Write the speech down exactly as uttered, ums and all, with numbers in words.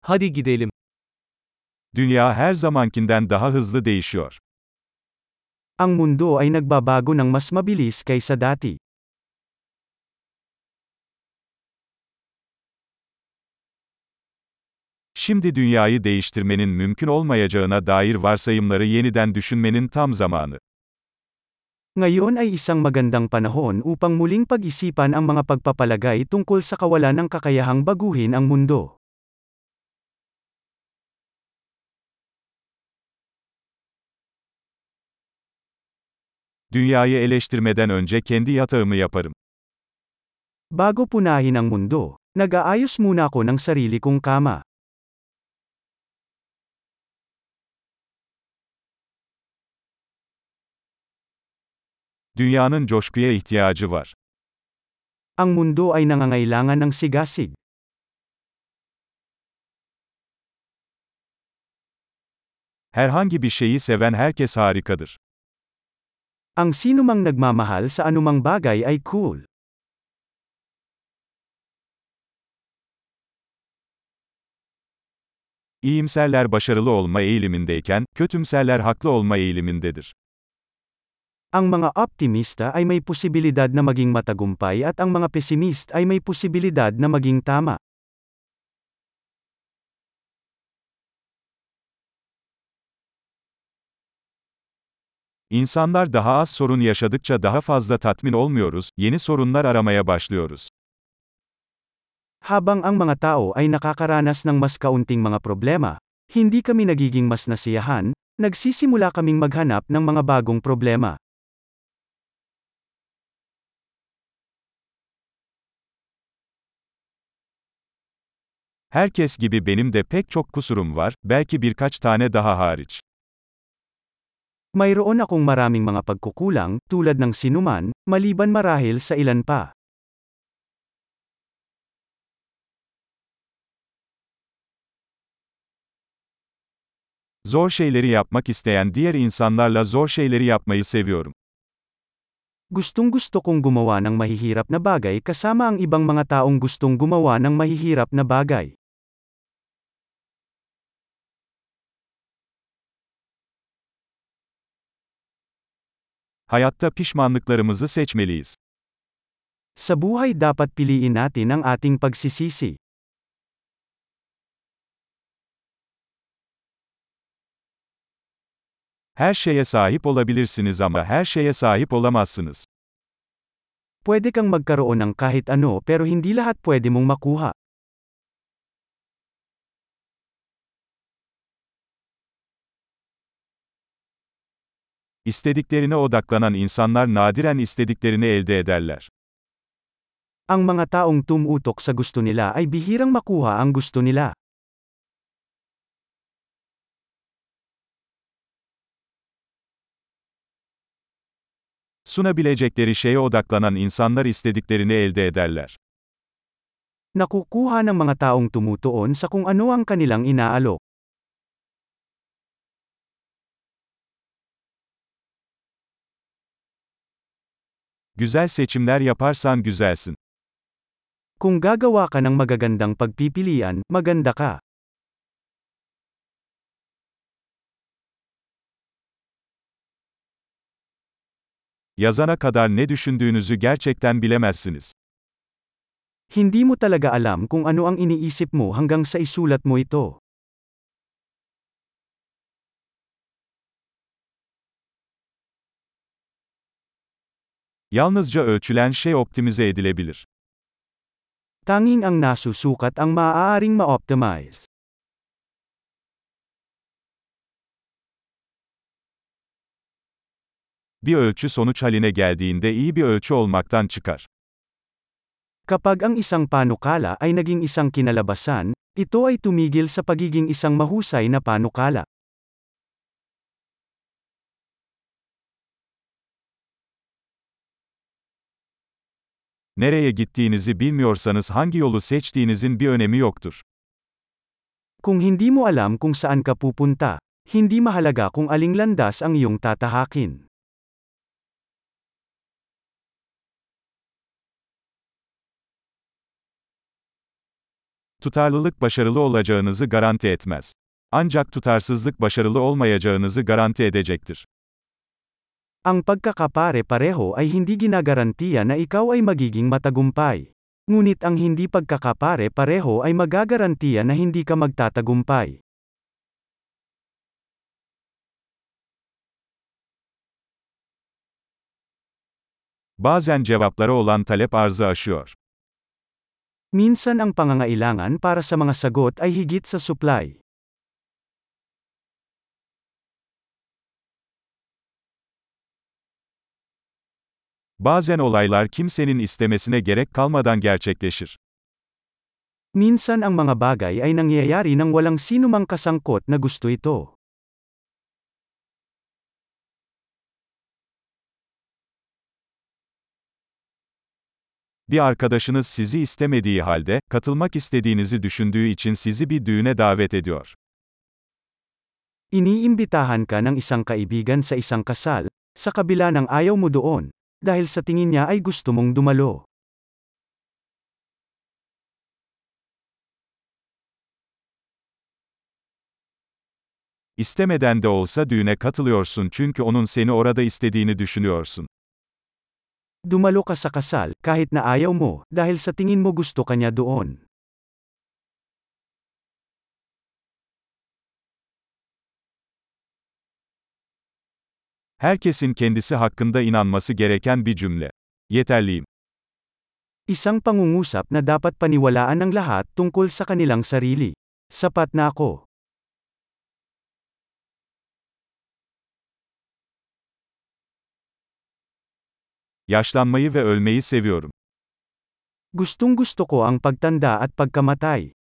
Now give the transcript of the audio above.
Hadi gidelim. Dünya her zamankinden daha hızlı değişiyor. Ang mundo ay nagbabago ng mas mabilis kaysa dati. Şimdi dünyayı değiştirmenin mümkün olmayacağına dair varsayımları yeniden düşünmenin tam zamanı. Ngayon ay isang magandang panahon upang muling pag-isipan ang mga pagpapalagay tungkol sa kawalan ng kakayahang baguhin ang mundo. Dünyayı eleştirmeden önce kendi yatağımı yaparım. Bago punahin ang mundo, nag-aayos muna ako ng sarili kong kama. Dünyanın coşkuya ihtiyacı var. Ang mundo ay nangangailangan ng sigasig. Herhangi bir şeyi seven herkes harikadır. Ang sinumang nagmamahal sa anumang bagay ay cool. İyimserler başarılı olma eğilimindeyken, kötümserler haklı olma eğilimindedir. Ang mga optimista ay may posibilidad na maging matagumpay at ang mga pesimist ay may posibilidad na maging tama. İnsanlar daha az sorun yaşadıkça daha fazla tatmin olmuyoruz, yeni sorunlar aramaya başlıyoruz. Habang ang mga tao ay nakakaranas ng mas kaunting mga problema, hindi kami nagiging mas nasiyahan, nagsisimula kaming maghanap ng mga bagong problema. Herkes gibi benim de pek çok kusurum var, belki birkaç tane daha hariç. Mayroon akong maraming mga pagkukulang, tulad ng sinuman, maliban marahil sa ilan pa. Zor şeyleri yapmak isteyen diğer insanlarla zor şeyleri yapmayı seviyorum. Gustong-gusto kong gumawa ng mahihirap na bagay kasama ang ibang mga taong gustong gumawa ng mahihirap na bagay. Hayatta pişmanlıklarımızı seçmeliyiz. Sa buhay dapat piliin natin ang ating pagsisisi. Her şeye sahip olabilirsiniz ama her şeye sahip olamazsınız. Pwede kang magkaroon ng kahit ano pero hindi lahat pwede mong makuha. İstediklerine odaklanan insanlar nadiren istediklerini elde ederler. Ang mga taong tumutok sa gusto nila ay bihirang makuha ang gusto nila. Sunabilecekleri şeye odaklanan insanlar istediklerini elde ederler. Nakukuha ng mga taong tumutuon sa kung ano ang kanilang inaalok. Güzel seçimler yaparsan güzelsin. Kung gagawa ka ng magagandang pagpipilian, maganda ka. Yazana kadar ne düşündüğünüzü gerçekten bilemezsiniz. Hindi mo talaga alam kung ano ang iniisip mo hanggang sa isulat mo ito. Yalnızca ölçülen şey optimize edilebilir. Tanging ang nasusukat ang maaaring ma-optimize. Bir ölçü sonuç haline geldiğinde iyi bir ölçü olmaktan çıkar. Kapag ang isang panukala ay naging isang kinalabasan, ito ay tumigil sa pagiging isang mahusay na panukala. Nereye gittiğinizi bilmiyorsanız hangi yolu seçtiğinizin bir önemi yoktur. Kung hindi mo alam kung saan ka pupunta, hindi mahalaga kung aling landas ang iyong tatahakin. Tutarlılık başarılı olacağınızı garanti etmez. Ancak tutarsızlık başarılı olmayacağınızı garanti edecektir. Ang pagkakapare-pareho ay hindi ginagarantiya na ikaw ay magiging matagumpay. Ngunit ang hindi pagkakapare-pareho ay magagarantiya na hindi ka magtatagumpay. Bazen cevaplara olan talep arzı aşıyor. Minsan ang pangangailangan para sa mga sagot ay higit sa supply. Bazen olaylar kimsenin istemesine gerek kalmadan gerçekleşir. Minsan ang mga bagay ay nangyayari nang walang sinumang kasangkot na gusto ito. Bir arkadaşınız sizi istemediği halde, katılmak istediğinizi düşündüğü için sizi bir düğüne davet ediyor. Iniimbitahan ka ng isang kaibigan sa isang kasal, sa kabila ng ayaw mo doon, dahil sa tingin niya ay gusto mong dumalo. İstemeden de olsa düğüne katılıyorsun çünkü onun seni orada istediğini düşünüyorsun. Dumalo ka sa kasal, kahit na ayaw mo, dahil sa tingin mo gusto ka niya doon. Herkesin kendisi hakkında inanması gereken bir cümle. Yeterliyim. Isang pangungusap na dapat paniwalaan ng lahat tungkol sa kanilang sarili. Sapat na ako. Yaşlanmayı ve ölmeyi seviyorum. Gustong gusto ko ang pagtanda at pagkamatay.